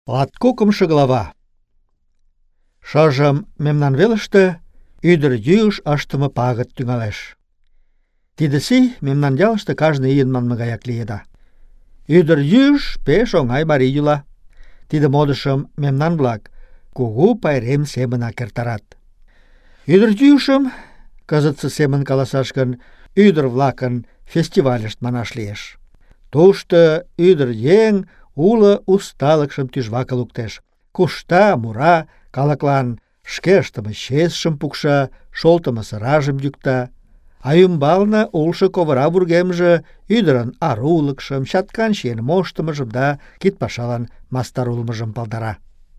Латкокымшо глава. Шыжым мемнан велыште ӱдыр йӱыш ыштыме пагыт тӱҥалеш. Тиде сий мемнан ялыште кажне ийын манме гаяк лиеда. Ӱдыр йӱыш пеш оҥай марий йӱла. Тиде модышым мемнан-влак кугу пайрем семынак эртарат. Ӱдыр йӱышым, кызытсе семын каласаш гын, ӱдыр-влакын фестивальышт манаш лиеш. Тушто ӱдыр еҥ уло усталыкшым тӱжваке луктеш. Кушта, мура, калыклан шке ыштыме чесшым пукша, шолтымо сыражым йӱкта. А ӱмбалне улшо ковыра вургемже ӱдырын арулыкшым, чаткан чиен моштымыжым да кидпашалан мастар улмыжым палдара.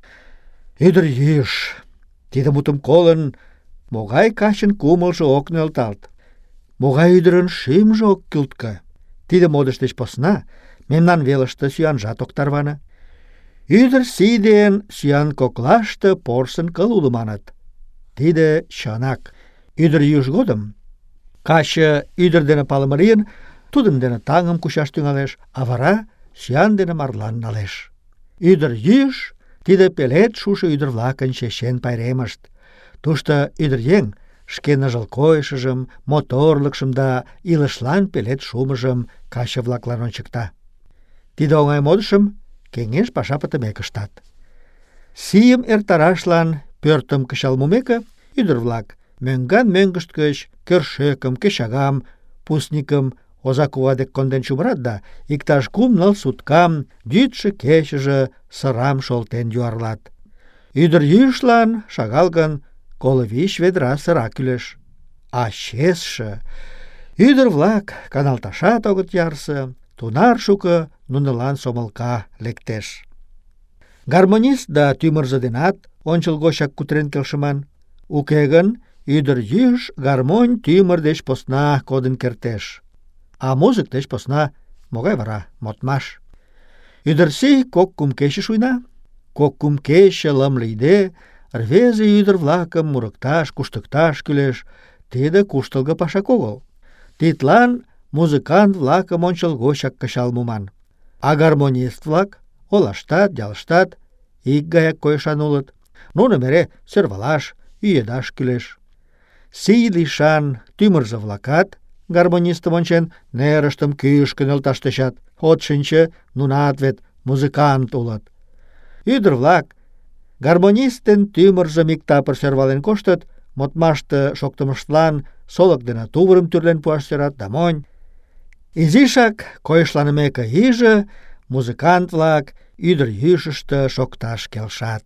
Ӱдыр йӱыш. Тиде мутым колын, могай качын кумылжо ок нӧлталт, могай ӱдырын шӱмжӧ ок кӱлткӧ. Тиде модыш деч посна мемнан велыште сӱанжат ок тарване. Ӱдыр сий ден сӱан коклаште порсын кыл уло маныт. Тиде чынак. Ӱдыр йӱыш годым каче ӱдыр дене палыме лийын, тудын дене таҥым кучаш тӱҥалеш, а вара сӱан дене марлан налеш. Ӱдыр йӱыш — тиде пелед шушо ӱдыр-влакын чечен пайремышт. Тушто ӱдыръеҥ шке ныжыл койышыжым, моторлыкшым да илышлан пелед шумыжым каче-влаклан ончыкта. Тиде оҥай модышым кеҥеж паша пытымек ыштат. Сийым эртарашлан пӧртым кычал мумеке, ӱдыр-влак мӧҥган-мӧҥгышт гыч кӧршӧкым, кечагам, пусникым оза кува дек конден чумырат да иктаж 3-4 суткам йӱдшӧ-кечыже сырам шолтен юарлат. Ӱдыр йӱышлан шагал гын 25 ведра сыра кӱлеш. А чесше ӱдыр-влак каналташат огыт ярсе, тунар шуко нунылан сомылка лектеш. Гармонист да тӱмырзӧ денат ончылгочак кутырен келшыман. Уке гын, ӱдыр йӱыш гармонь тӱмыр деч посна кодын кертеш. А музык деч посна могай вара модмаш? Ӱдырсий 2-3 кече шуйна. 2-3 кече лым лийде рвезе ӱдыр-влакым мурыкташ, куштыкташ кӱлеш. Тиде куштылго пашак огыл. Тидлан музыкант-влакым ончылгочак кычал муман. А гармонист-влак олаштат, ялыштат ик гаяк койышан улыт. Нуным эре сӧрвалаш, ӱедаш кӱлеш. Сий лишан тӱмырзӧ-влакат, гармонистым ончен, нерыштым кӱшкӧ нӧлташ тӧчат. От шинче, нунат вет музыкант улыт. Ӱдыр-влак гармонист ден тӱмырзым иктапыр сӧрвален коштыт, модмаште шоктымыштлан солык дене тувырым тӱрлен пуаш сӧрат да монь. Изишак койышланымеке иже, музыкант-влак ӱдыр йӱышыштӧ шокташ келшат.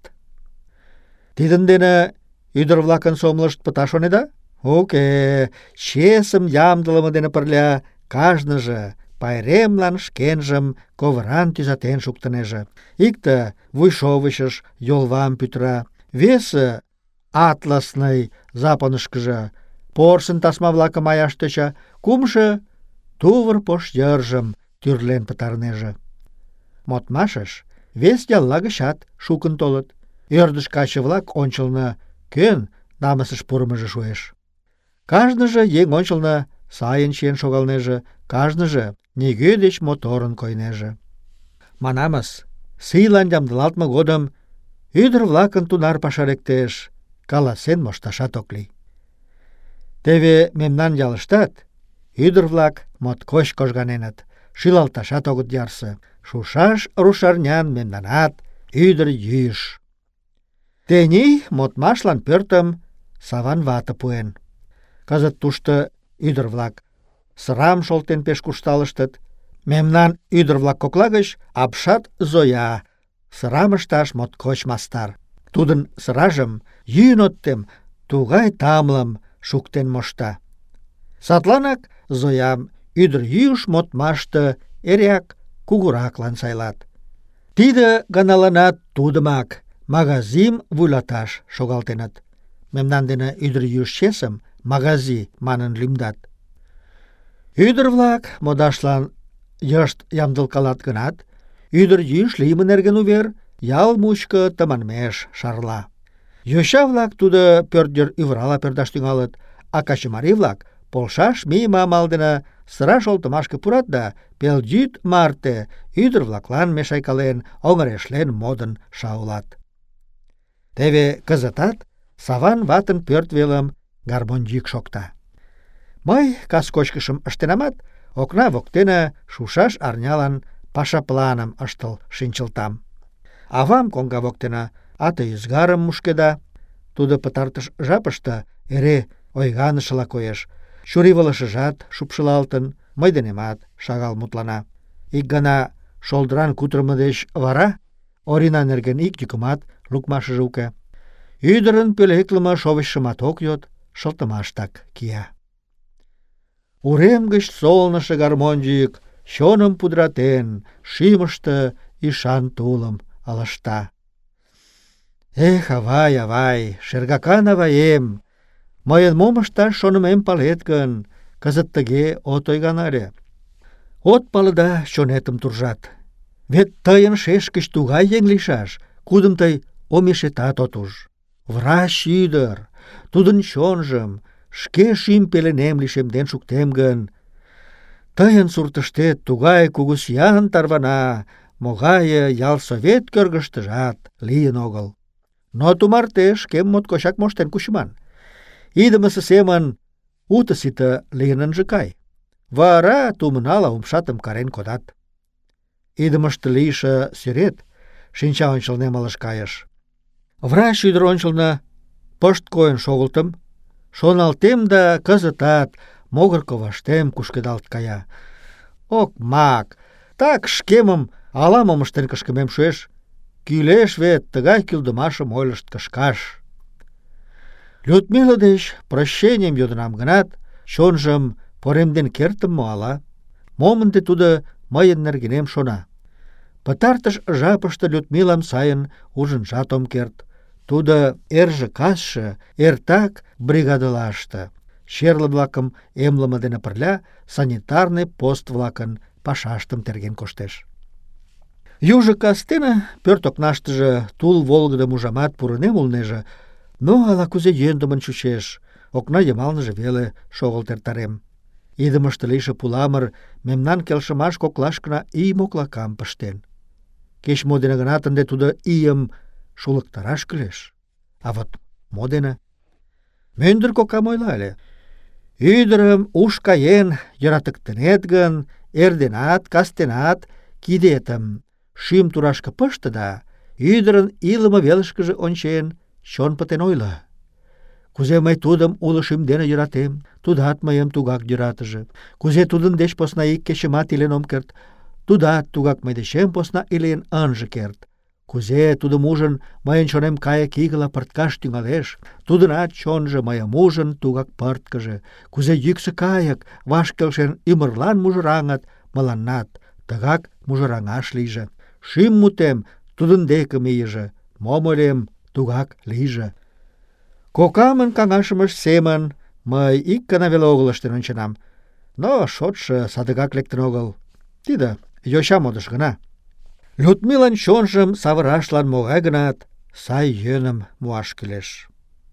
Тидын дене ӱдыр-влакын сомылышт пыта шонеда? Уке, чесым ямдылыме дене пырля кажныже пайремлан шкенжым ковыран тӱзатен шуктынеже. Икте вуйшовычыш йолвам пӱтыра, весе атласный запонышкыжо порсын тасма-влакым аяш тӧча, кумшо тувыр пош йыржым тӱрлен пытарынеже. Модмашыш вес ялла гычат шукын толыт. Ӧрдыж каче-влак ончылно кӧн намысыш пурымыжо шуэш. Кажныже еҥ ончылно сайын чиен шогалнеже, кажныже нигӧ деч моторын койнеже. Манамыс, сийлан ямдылалтме годым ӱдыр-влакын тунар паша лектеш, каласен мошташат ок лий. Теве мемнан ялыштат ӱдыр-влак моткоч кожганеныт, шӱлалташат огыт ярсе. Шушаш рушарнян мемнанат ӱдыр йӱыш. Тений модмашлан пӧртым Саван вате пуэн. Кызыт тушто ӱдыр-влак сырам шолтен пеш куржталыштыт. Мемнан ӱдыр-влак кокла гыч апшат Зоя сырам ышташ моткоч мастар. Тудын сыражым йӱын от тем, тугай тамлым шуктен мошта. Садланак Зоям ӱдыр йӱыш модмаште эреак кугураклан сайлат. Тиде ганаланат тудымак магазим вуйлаташ шогалтеныт. Мемнан дене ӱдыр йӱыш чесым магази манын лӱмдат. Ӱдыр-влак модашлан йышт ямдылкалат гынат, ӱдыр йӱыш лийме нерген увер ял мучко тыманмеш шарла. Йоча-влак тудо пӧрт йыр ӱвырала пӧрдаш тӱҥалыт, а качымарий-влак полшаш мийыме амал дене сыра шолтымашке пурат да пелйӱд марте ӱдыр-влаклан мешайкален, оҥырешлен модын шаулат. Теве кызытат Саван ватын пӧрт велым гармонь йӱк шокта. Мый кас кочкышым ыштенамат, окна воктене шушаш арнялан паша планым ыштыл шинчылтам. Авам коҥга воктене ате ӱзгарым мушкеда. Тудо пытартыш жапыште эре ойганышыла коеш. Чурийвылышыжат шупшылалтын, мый денемат шагал мутлана. Ик гана шолдыран кутырымо деч вара Орина нерген ик йӱкымат лукмашыже уке. Ӱдырын пӧлеклыме шовычшымат ок йод, шылтымаштак кия. Урем гыч солнышо гармонь йӱк чоным пудыратен, шӱмыштӧ ӱшан тулым ылыжта. Эх, авай, авай, шергакан аваем, мыйын мом ышташ шонымем палет гын, кызыт тыге от ойганаре. От пале да чонетым туржат. Вет тыйын шешкыч тугай еҥ лийшаш, кудым тый омешетат от уж. Врач ӱдыр, тудын чонжым шке шӱм пеленем лишемден шуктем гын, тыйын суртыштет тугай кугу сӱан тарвана, могае ялсовет кӧргыштыжат лийын огыл. Но тумарте шкем моткочак моштен кучыман. Идымысе семын уто-сите лийын ынже кай. Вара тумынала умшатым карен кодат. Идымыште лийше сӱрет шинча ончылнем ылыж кайыш. Врач ӱдыр ончылно пышт койын шогылтым, шоналтем да кызытат могыр коваштем кушкедалт кая. Окмак, так шкемым ала-мом ыштен кышкымем шуэш. Кӱлеш вет тыгай кӱлдымашым ойлышт кышкаш. Людмила деч прощенийым йодынам гынат, чонжым поремден кертым мо ала? Мом ынде тудо мыйын нергенем шона? Пытартыш жапыште Людмилам сайын ужынжат ом керт. Тудо эрже-касше эртак бригадылаште, черле-влакым эмлыме дене пырля санитарный пост-влакын пашаштым терген коштеш. Южо кастене пӧрт окнаштыже тул волгыдым ужамат пурынем улнеже, но ала-кузе йӧндымын чучеш, окна йымалныже веле шогылт эртарем. Идымыште лийше пуламыр мемнан келшымаш коклашкына ий моклакам пыштен. Кеч-мо дене гынат ынде тудо ийым шулыктараш кӱлеш. А вот мо дене? Мӧндыр кокам ойла ыле: ӱдырым уш каен йӧратыктынет гын, эрденат, кастенат кидетым шӱм турашке пыште да, ӱдырын илыме велышкыже ончен, чон пытен ойло. Кузе мый тудым уло шӱм дене йӧратем, тудат мыйым тугак йӧратыже. Кузе тудын деч посна ик кечымат илен ом керт, тудат тугак мый дечем посна илен ынже керт. Кузе тудым ужын, мыйын чонем кайык игыла пырткаш тӱҥалеш, тудынат чонжо мыйым ужын тугак пырткыже. Кузе йӱксӧ кайык ваш келшен ӱмырлан мужыраҥыт, мыланнат тыгак мужыраҥаш лийже. Шӱм мутем тудын деке мийыже, мом ойлем, тугак лийже. Кокамын каҥашымыж семын мый ик гана веле огыл ыштен онченам, но шотшо садыгак лектын огыл. Тиде йоча модыш гына. Людмилан чонжым савырашлан могай-гынат сай йӧным муаш кӱлеш.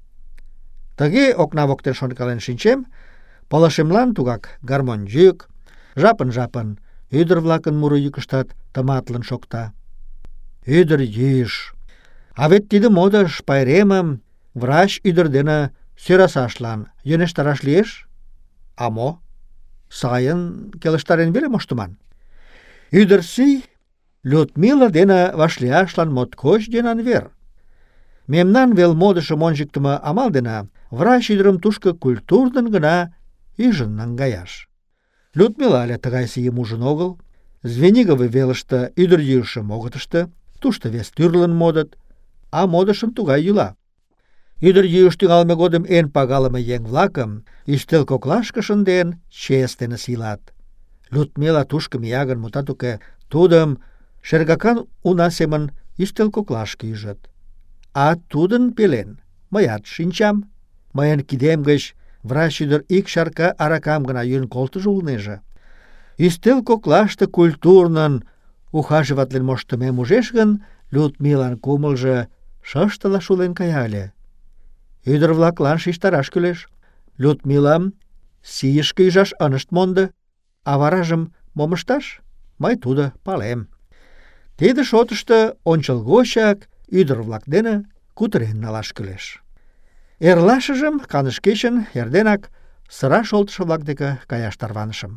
Тыге окна воктен шонкален шинчем, пылышемлан тугак гармонь йӱк, жапын-жапын ӱдыр-влакын муро йӱкыштат тыматлын шокта. Ӱдыр йӱш. А вет тиде модыш пайремым врач ӱдыр дене сӧрасашлан йӧнештараш лиеш? А мо? Сайын келыштарен веле моштыман. Ӱдыр сий Людмила дене вашлияшлан моткоч йӧнан вер. Мемнан вел модышым ончыктымо амал дене врач ӱдырым тушко культурнын гына ӱжын наҥгаяш. Людмила але тыгай сийым ужын огыл. Звенигово велыште ӱдырйӱышым огыт ыште, тушто вес тӱрлын модыт, а модышын тугай йӱла. Ӱдырйӱыш тӱҥалме годым эн пагалыме еҥ-влакым ӱстел коклашке шынден, чес дене сийлат. Людмила тушко мия гын, мутат уке, тудым шергакан уна семын ӱстел коклашке ӱжыт. А тудын пелен мыят шинчам. Мыйын кидем гыч врач ӱдыр ик чарка аракам гына йӱын колтыжо улнеже. Ӱстел коклаште культурнын ухаживатлен моштымем ужеш гын, Людмилан кумылжо шыштыла шулен кая ыле. Ӱдыр-влаклан шижтараш кӱлеш. Людмилам сийышке ӱжаш ынышт мондо, а варажым мом ышташ? Мый тудо палем. Тиде шотышто ончылгочак ӱдыр-влак дене кутырен налаш кӱлеш. Эрлашыжым каныш кечын эрденак сыра шолтышо-влак деке каяш тарванышым.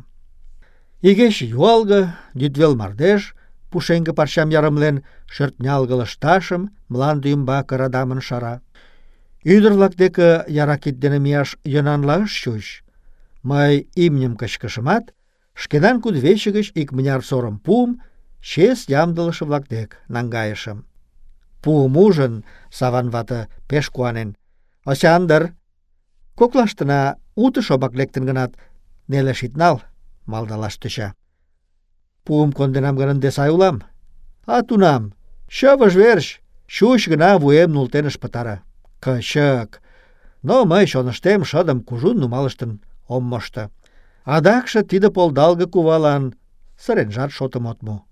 Игече юалге, йӱдвел мардеж, пушеҥге парчам ярымлен, шӧртнялге лышташым мланде ӱмбаке радамын шара. Ӱдыр-влак деке яра кид дене мияш йӧнанла ыш чуч. Мый имньым кычкышымат, шкенан кудывече гыч икмыняр сорым пуым чес ямдылыше-влак дек наҥгайышым. Пуым ужын, Саван вате пеш куанен: «Осяндр, коклаштына уто шомак лектын гынат, нелеш ит нал», — малдалаш тӧча. «Пуым конденам гын, ынде сай улам. А тунам чывыж верч чуч гына вуем нултен ыш пытаре. Кычык! Но мый чоныштем шыдым кужун нумалыштын ом мошто. Адакше тиде полдалге кувалан сыренжат шотым от му».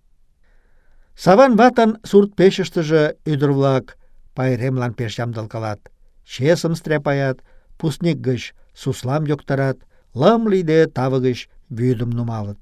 Саван ватын сурт-печыштыже ӱдыр-влак пайремлан пеш ямдылкалат. Чесым стряпаят, пустник гыч суслам йоктарат, лым лийде таве гыч вӱдым нумалыт.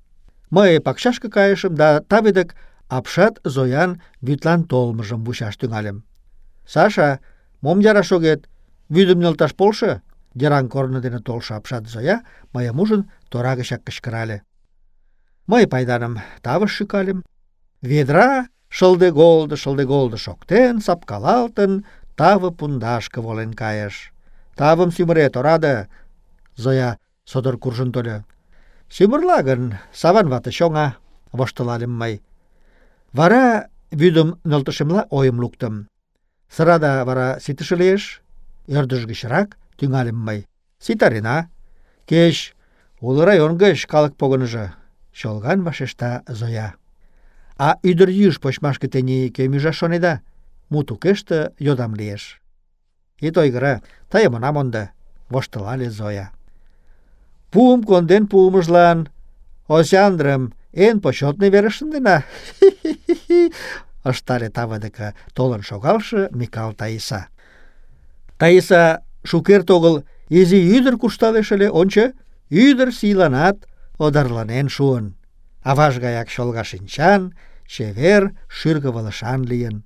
Мый пакчашке кайышым да таве дек апшат Зоян вӱдлан толмыжым вучаш тӱҥальым. «Саша, мом яраш огет? Вӱдым нӧлташ полшо!» Йыраҥ корно дене толшо апшат Зоя мыйым ужын тора гычак кычкырале. Мый пайданым тавыш шӱкальым. Ведра шылде-голдо шоктен, сапкалалтын, таве пундашке волен кайыш. «Тавым сӱмырет, ораде!» Зоя содор куржын тольо. «Сӱмырла гын, Саван вате чоҥа», — воштылальым мый. Вара вӱдым нӧлтышемла ойым луктым. «Сырада вара ситыше лиеш?» Ӧрдыж гычрак тӱҥальым мый. «Ситарена. Кеч уло район гыч калык погыныжо», — чолган вашешта Зоя. «А ӱдырйӱыш почмашке тений кӧм ӱжаш шонеда?» Мут укеште йодам лиеш. «Ит ойгыро, тыйым она мондо», — воштылале Зоя. «Пуым конден пуымыжлан Осяндрым эн почетный верыш шындена», — ыштале таве деке толын шогалше Микал Таиса. «Таиса шукерте огыл изи ӱдыр куржталеш ыле, ончо, ӱдыр сийланат одарланен шуын. Аваж гаяк чолга шинчан, чевер шӱргывылышан лийын».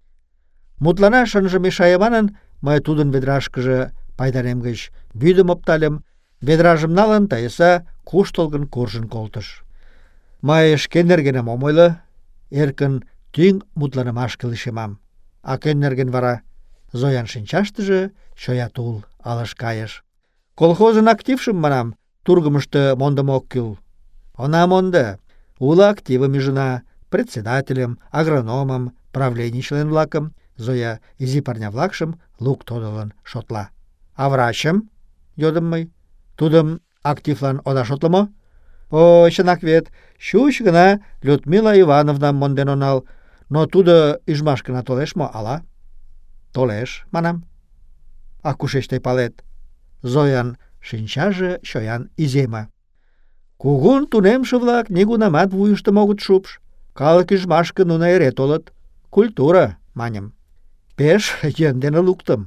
Мутланаш ынже мешае манын, мый тудын ведрашкыже пайдарем гыч вӱдым оптальым, ведражым налын, Таиса куштылгын куржын колтыш. Мый шке нергенем ом ойло, эркын тӱҥ мутланымашке лишемам. А кӧн нерген вара? Зоян шинчаштыже чоя тул ылыж кайыш. «Колхозын актившым, манам, тургымышто мондымо ок кӱл». «Она мондо. Уло активым ӱжына, председательым, агрономым, правлений член-влакым», — Зоя изи парня-влакшым лук тодылын шотла. «А врачым?» — йодым мый. «Тудым активлан ода шотло мо?» «О, чынак вет, чуч гына Людмила Ивановнам монден онал, но тудо ӱжмашкына толеш мо, ала?» «Толеш, манам». «А кушеч тый палет?» Зоян шинчаже чоян иземе. «Кугун тунемше-влак нигунамат вуйыштым огыт шупш. Калык ӱжмашке нуно эре толыт. Культура, маньым. Пеш йӧн дене луктым».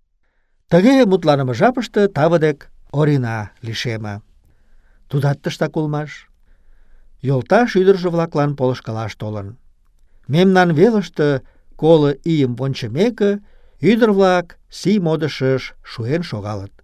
Тыге мутланыме жапыште таве дек Орина лишеме. Тудат тыштак улмаш. Йолташ ӱдыржӧ-влаклан полышкалаш толын. Мемнан велыште 50 ийым вончымеке, ӱдыр-влак сий модышыш шуэн шогалыт.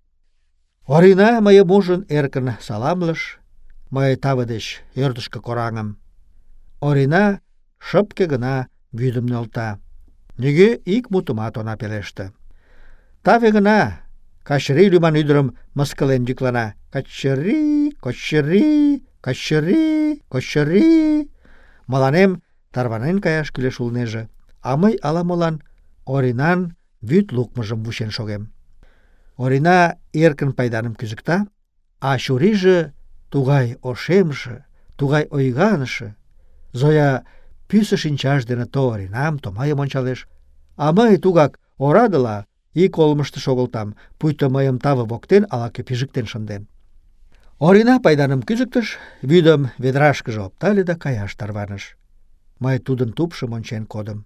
Орина мыйым ужын эркын саламлыш, мый таве деч ӧрдыжкӧ кораҥым. Орина шыпке гына вӱдым нӧлта. Нигӧ ик мутымат она пелеште. Таве гына Качыри лӱман ӱдырым мыскылен йӱклана: «Качыри, Качыри, Качыри, Качыри». Мыланем тарванен каяш кӱлеш улнеже, а мый ала-молан Оринан вӱд лукмыжым вучен шогем. Орина эркын пайданым кӱзыкта, а чурийже тугай ошемше, тугай ойганыше. Зоя пӱсӧ шинчаж дене то Оринам, то мыйым ончалеш, а мый тугак орадыла ик олмышто шогылтам, пуйто мыйым таве воктен ала-кӧ пижыктен шынден. Орина пайданым кӱзыктыш, вӱдым ведрашкыже оптале да каяш тарваныш. Мый тудын тупшым ончен кодым.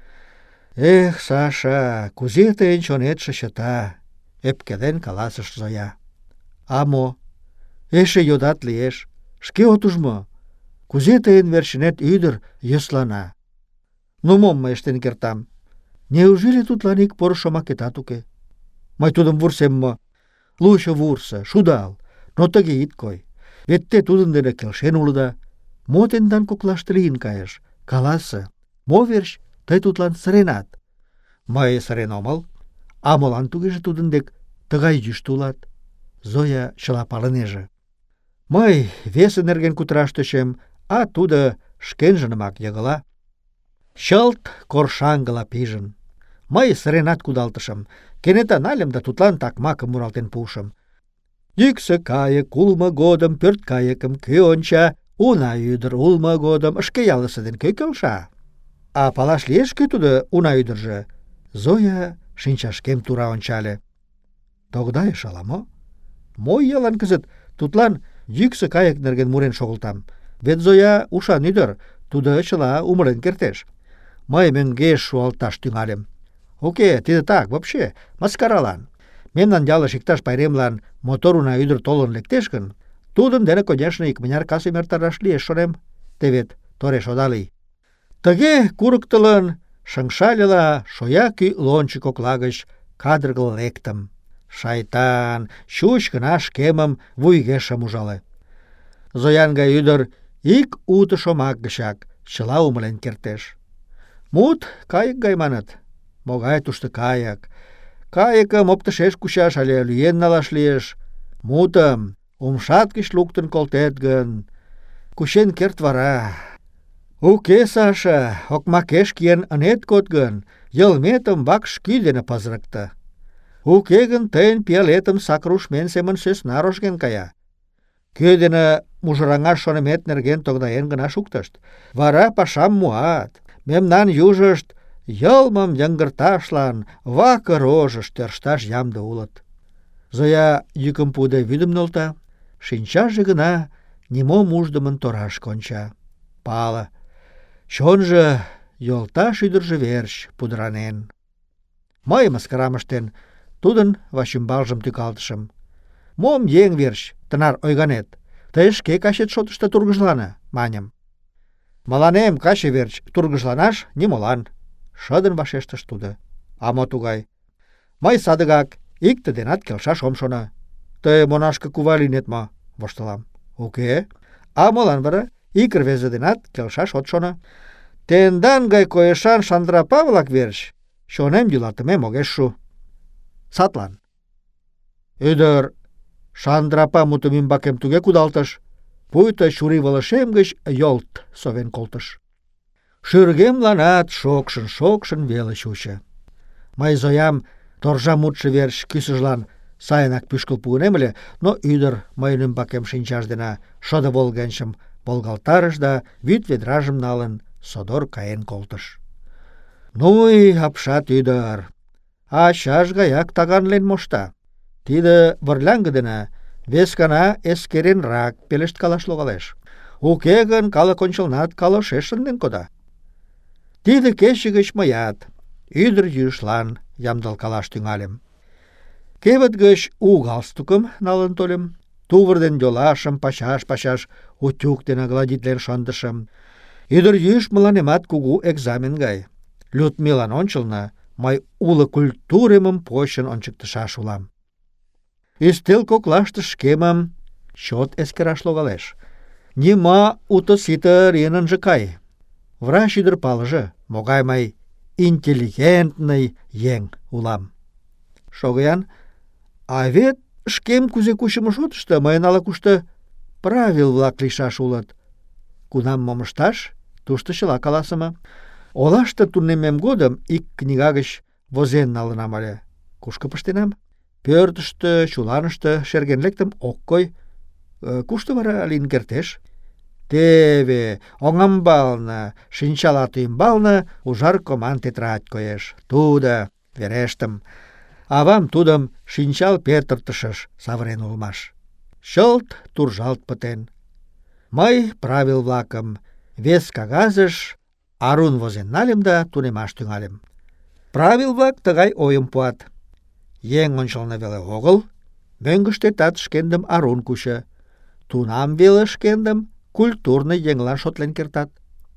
«Эх, Саша, кузе тыйын чонетше чыта!» — ӧпкелен каласыш Зоя. «А мо? Эше йодат лиеш. Шке от уж мо? Кузе тыйын верчынет ӱдыр йӧслана? Ну мом мый ыштен кертам? Неужели тудлан ик поро шомакетат уке? Мый тудым вурсем мо? Лучо вурсо, шудал, но тыге ит кой. Вет те тудын дене келшен улыда. Мо тендан коклаште лийын кайыш? Каласе, мо верч тый тудлан сыренат? Мый сырен омыл. А молан тугеже тудын дек тыгай йӱштӧ улат? Зоя чыла палынеже. Мый весе нерген кутыраш тӧчем, а тудо шкенжынымак йыгыла. Чылт коршаҥгыла пижын. Мый сыренат кудалтышым. Кенета нальым да тудлан такмакым муралтен пуышым. Йӱксӧ кайык улмо годым пӧрткайыкым кӧ онча? Уна ӱдыр улмо годым шке ялысе ден кӧ келша? А палаш лиеш, кӧ тудо уна ӱдыржӧ? Зоя шинчашкем тура ончале. Тогдайыш ала-мо? Мо иялан кызыт тудлан йӱксӧ кайык нерген мурен шогылтам? Вет Зоя ушан ӱдыр, тудо чыла умылен кертеш. Мый мӧҥгеш шуалташ тӱҥальым. Уке, тиде так, вообще, маскаралан. Мемнан ялыш иктаж пайремлан мотор уна ӱдыр толын лектеш гын, тудын дене, конешне, икмыняр касым эртараш лиеш, шонем. Те вет тореш ода лий. Тыге курыктылын, шыҥшальыла шоя кӱ лончо кокла гыч кадыргыл лектым. Шайтан, чуч гына шкемым вуйге шым ужале. Зоян гай ӱдыр ик уто шомак гычак чыла умылен кертеш. Мут кайык гай маныт. Могай тушто кайык? Кайыкым оптышеш кучаш але лӱен налаш лиеш. Мутым умшат гыч луктын колтет гын, кучен керт вара. Уке, Саша, окмакеш киен ынет код гын, йылметым вакш кӱ дене пызырыкте. Уке гын, тыйын пиалетым сакыр ушмен семын сӧсна рожген кая. Кӧ дене мужыраҥаш шонымет нерген тогдаен гына шуктышт. Вара пашам муат. Мемнан южышт йылмым йыҥгырташлан вакыр рожыш тӧршташ ямде улыт. Зоя йӱкым пуыде вӱдым нӧлта, шинчаже гына нимом уждымын торашке онча. Пале, чонжо йолташ ӱдыржӧ верч пудыранен. Мый мыскарам ыштен, тудын вачӱмбалжым тӱкалтышым. Мом еҥ верч тынар ойганет? Тый шке качет шотышто тургыжлане, маньым. Мыланем каче верч тургыжланаш нимолан, шыдын вашештыш тудо. А мо тугай? Мый садыгак икте денат келшаш ом шоно. Тый монашке кува лийнет мо? Воштылам. Уке. А молан вара ик рвезе денат келшаш от шоно? Тендан гай койышан шандрапа-влак верч чонем йӱлатымем огеш шу. Садлан. Ӱдыр шандрапа мутым ӱмбакем туге кудалтыш, пуйто чурийвылышем гыч йолт совен колтыш. Шӱргемланат шокшын-шокшын веле чучо. Мый Зоям торжа мутшо верч кӱсыжлан сайынак пӱшкыл пуынем ыле, но ӱдыр мыйын ӱмбакем шинчаж дене шыде волгенчым волгалтарыш да вӱд ведражым налын содор каен колтыш. Ну апшат ӱдыр, ачаж гаяк таганлен мошта. Тиде вырляҥге дене вескана эскеренрак пелешткалаш логалеш. Уке гын, калык ончылнат калошеш шынден кода. Тиде кече гыч мыят ӱдыр йӱышлан ямдылкалаш тӱҥальым. Кевыт гыч у галстукым налын тольым, тувыр ден йолашым пачаш-пачаш утюг дене гладитлен шындышым. Ӱдыр йӱыш мыланемат кугу экзамен гай. Людмилан ончылно мый уло культуремым почын ончыктышаш улам. Ӱстел коклаште шкемым чот эскераш логалеш. Нима уто-сите лийын ынже кай. Врач ӱдыр палыже, могай мый интеллигентный еҥ улам. Шого-ян, а вет шкем кузе кучымо шотышто мыйын ала-кушто правил-влак лийшаш улыт. Кунам мом ышташ, тушто чыла каласыме. Олаште тунеммем годым ик книга гыч возен налынам ыле. Кушко пыштенам? Пӧртыштӧ, чуланыште шерген лектым, ок кой. Кушто вара лийын кертеш? Теве, оҥамбалне, шинчалат ӱмбалне ужар коман тетрадь коеш. Тудо, верештым. Авам тудым шинчал петыртышыш савырен улмаш. Чылт туржалт пытен. Мый правил-влакым вес кагазыш арун возен нальым да тунемаш тӱҥальым. Правил-влак тыгай ойым пуат. Еҥ ончылно веле огыл, мӧҥгыштетат шкендым арун кучо. тунам веле шкендым культурный еҥлан шотлен кертат.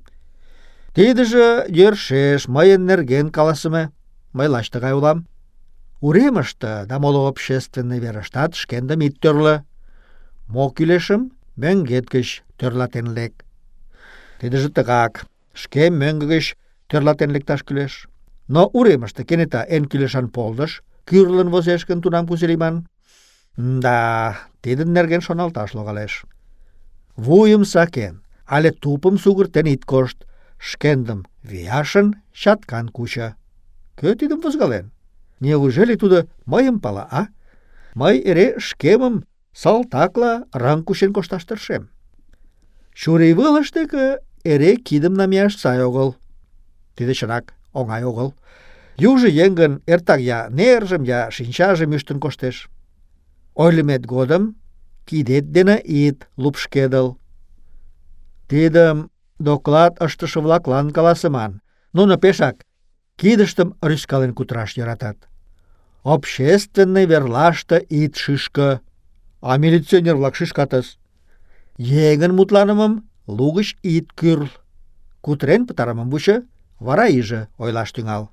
Тидыже йӧршеш мыйын нерген каласыме. Мый лач тыгай улам. Уремыште да моло общественный верыштат шкендым ит тӧрлӧ. Мо кӱлешым мӧҥгет гыч тӧрлатен лек. Тидыже тыгак. Шке мӧҥгӧ гыч тӧрлатен лекташ кӱлеш. Но уремыште кенета эн кӱлешан полдыш кӱрлын возеш гын, тунам кузе лийман? Да, тидын нерген шоналташ логалеш. Вуйым сакен але тупым сугыртен ит кошт. Шкендым вияшын чаткан кучо. Кӧ тидым возгален? Неужели тудо мыйым пала, а? Мый эре шкемым салтакла рыҥ кучен кошташ тыршем. Чурийвылыш деке эре кидым намияш сай огыл. Тиде чынак оҥай огыл. Южо еҥ гын эртак я нержым, я шинчажым ӱштын коштеш. Ойлымет годым кидет дене ит лупшкедыл. Тидым доклад ыштыше-влаклан каласыман. Нуно пешак кидыштым рӱзкален кутыраш йӧратат. Общественный верлаште ит шӱшкӧ, а милиционер-влак шӱшкатыс. Еҥын мутланымым лугыч ит кӱрл. Кутырен пытарымым вучо, вара иже ойлаш тӱҥал.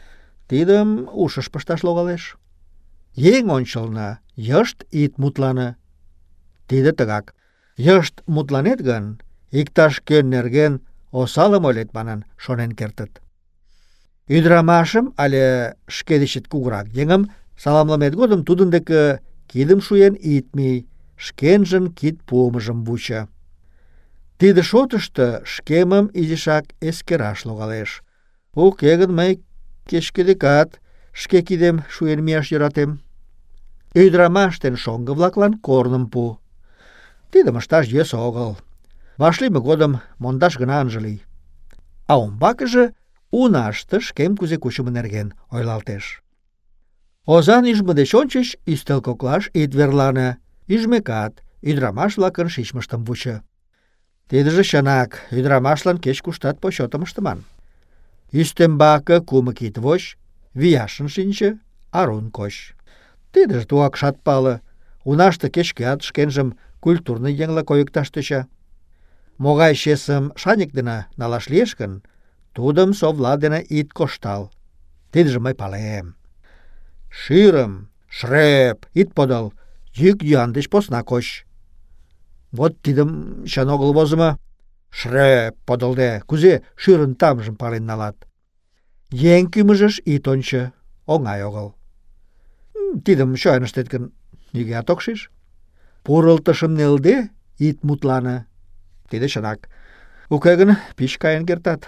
Тидым ушыш пышташ логалеш. Еҥ ончылно йышт ит мутлане. Тиде тыгак. Йышт мутланет гын, иктаж-кӧн нерген осалым ойлет манын шонен кертыт. Ӱдырамашым але шке дечет кугурак еҥым саламлымет годым тудын деке кидым шуен ит мий, шкенжын кид пуымыжым вучо. Тиде шотышто шкемым изишак эскераш логалеш. Уке гын мый кеч-кӧ шке кидем шуен мияш йӧратем. Ӱдырамаш ден шоҥго-влаклан корным пу. Тидым ышташ йӧсӧ огыл. Вашлийме годым мондаш гына ынже лий. А умбакыже унаште шкем кузе кучымо нерген ойлалтеш. Озан ӱжмӧ деч ончыч ӱстел коклаш ит верлане. Ӱжмекат, ӱдырамаш-влакын шичмыштым вучо. Тидыже чынак, ӱдырамашлан кеч-куштат почётым ыштыман. Ӱстембаке кумык ит воч, вияшын шинче, арун коч. Тидыже тугакшат пале. Унаште кеч-кӧат шкенжым культурный еҥла койыкташ тӧча. Могай чесым шаньык дене налаш лиеш гын, тудым совла дене ит коштал. Тидыже мый палем. Шӱрым, шреп, ит подыл, йӱк-йӱан деч посна коч. Вот тидым чын огыл возымо. Шреп подылде, кузе шӱрын тамжым пален налат. Еҥ кӱмыжыш ит ончо, оҥай огыл. Тидым чоян ыштет гын, нигӧат ок шиж. Пурылтышым нелде, ит мутлане. Тиде чынак. Уке гын, пич каен кертат.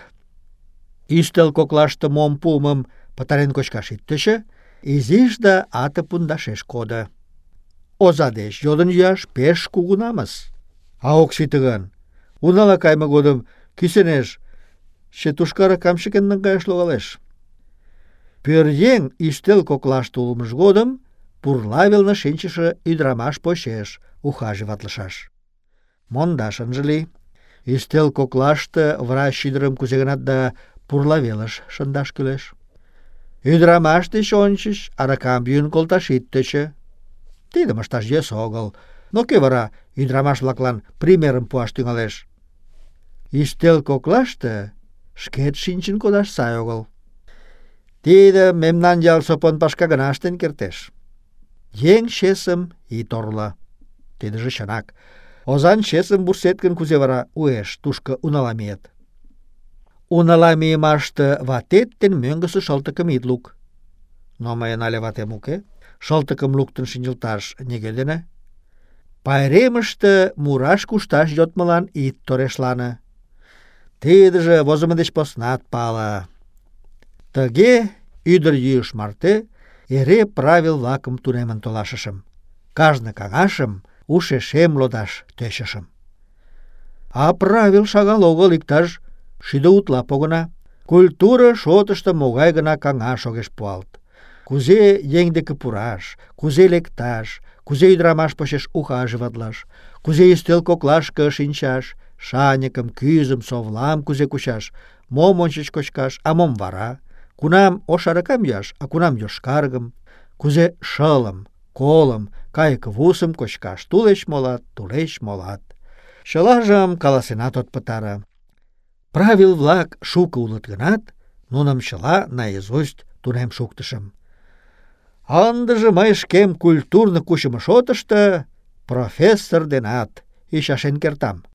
Ӱстел коклаште мом пуымым пытарен кочкаш ит тӧчӧ, изиш да ате пундашеш кодо. Оза деч йодын йӱаш пеш кугу намыс. А ок сите гын, унала кайме годым кӱсенеш четушкаракам чыкен наҥгаяш логалеш. Пӧръеҥ ӱстел коклаште улмыж годым пурла велне шинчыше ӱдырамаш почеш ухаживатлышаш. Мондаш ынже лий. Ӱстел коклаште врач ӱдырым кузе-гынат да пурла велыш шындаш кӱлеш. Ӱдырамаш деч ончыч аракам йӱын колташ ит тӧчӧ. Тидым ышташ йӧсӧ огыл. Но кӧ вара ӱдырамаш-влаклан примерым пуаш тӱҥалеш? Ӱстел коклаште шкет шинчын кодаш сай огыл. Тиде мемнан ялсо понпашка гына ыштен кертеш. Еҥ чесым ит орло. Тидыже чынак. Озан чесым вурсет гын, кузе вара уэш тушко унала миет? Унала мийымаште ватет ден мӧҥгысӧ шылтыкым ит лук. Но мыйын але ватем уке. Шылтыкым луктын шинчылташ нигӧ дене. Пайремыште мураш-кушташ йодмылан ит торешлане. Тидыже возымо деч поснат пале. Тыге ӱдыр-йӱыш марте эре правил-влакым тунемын толашышым. Кажне каҥашым ушешем лодаш тӧчышым. А правил шагал огыл, иктаж 7 утла погына. Культура шотышто могай гына каҥаш огеш пуалт. Кузе еҥ деке пураш, кузе лекташ, кузе ӱдырамаш почеш ухаживатлаш, кузе ӱстел коклашке шинчаш, шаньыкым, кӱзым, совлам кузе кучаш, мом ончыч кочкаш, а мом вара, кунам ош аракам йӱаш, а кунам йошкаргым, кузе шылым, колым, кайык вусым кочкаш тулеш молат, тулеш молат. Чылажым каласенат от пытаре. Правил-влак шуко улыт гынат, нуным чыла наизусть тунем шуктышым. Ындыже мый шкем культурно кучымо шотышто профессор денат ӱчашен кертам.